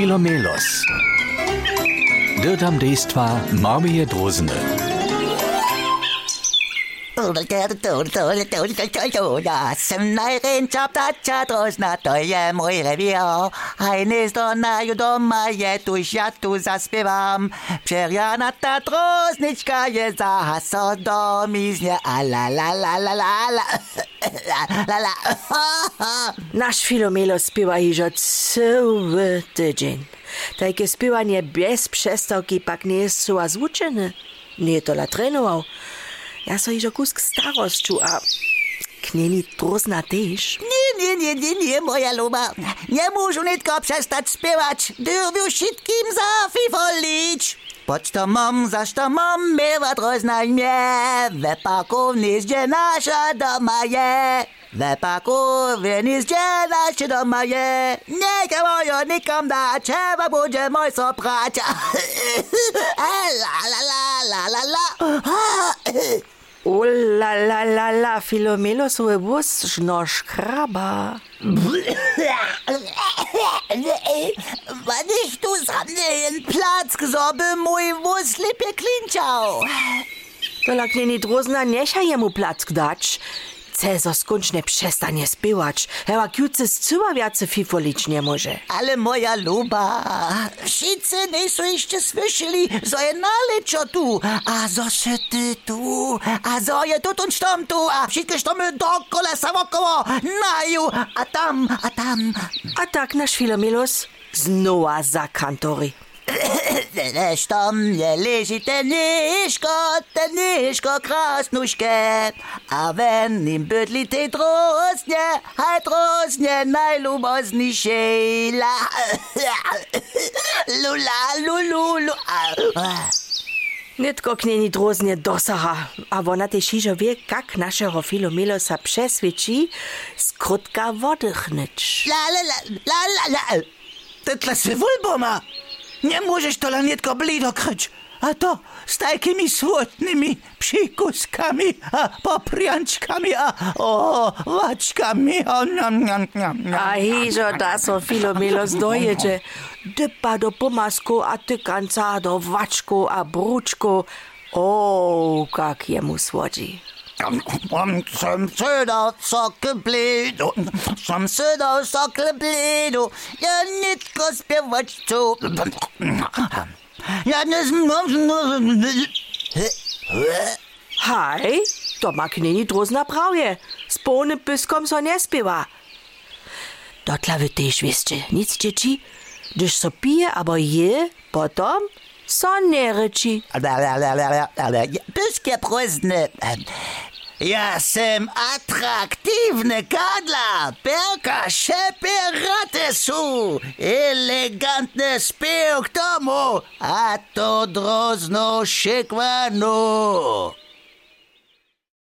Filomelos. Dirtam dejstva Marmije Drozene. Ja jsem najrenča ptača drozna, to je můj revír. Hejnezdo naju doma je, tuž já tu zaspěvám. Přerjanata droznička je zahaso do mízně a la la la la la la la la. Naš Filomelos spiewa hižo cały tydzień. Takie spiewanie bez przestawki pak nie jest so zvučene. Nie to la trenował. Ja so hižo kusk starosću, a knjeni drozna tež. Nie, moja luba. Nie môžu nitko przestać spiewać. Dyrwiu všetkým zafifolić. Poď to mam, zaś to mam, mieva drozna mnie. We parku nizdzie nasza doma je. We parku nizdzie nasza doma je. Niech mojo nikom da, trzeba bude moj soprać. La la la la la la. O la la la la, Filomelos wus żno szkraba. Wann ich du sammeln Platz gesorbe, mój wus lipie klinčał. To la knjeni drozna necha jemu plac dać. Cezar skończnie przestanie spiewać. Hewa kjuce zcyła wiace fifolić nie może. Ale moja luba, wszyscy nie są jeszcze słyszeli, że je naleczo tu, a zo się ty tu, a zo je tu und stom tu, a wszystkie sztomy dokola samokoło, naju, a tam. A tak nasz Filomelos znowa za kantory. Štom je leži teniško krasnuške, a ven im bydli te droznie najluboznišej. Lula. Nitko knjeni droznie dosaha, a ona tež hižo wie, kak našeho Filomelosa přesvědčí skrutka woddychnyć. La. Tytla se vulboma. Nie możesz to lanietko blido kryć, a to z takimi słodnymi przykuskami, a poprianczkami, a owaczkami. A hižo da so Filomelos dojedzie. Dypa do pomasku, a tykanca do waczku, a bruczku. O, kak jemu słodzi. Som søder sokle blido, ja nitko spiewać tu. Ja nie Hej, to ma knjeni drozna prawie. Z polnym pyskom so nie spiewa. Dotla wy tež wiecie, nic dzieci, gdyż so pije, abo je, potom so nie ryči. Pyskie prozne. Ja sem atraktivne kadla, perka šeperate su, elegantne spev k tomu, a to drozno šekvano.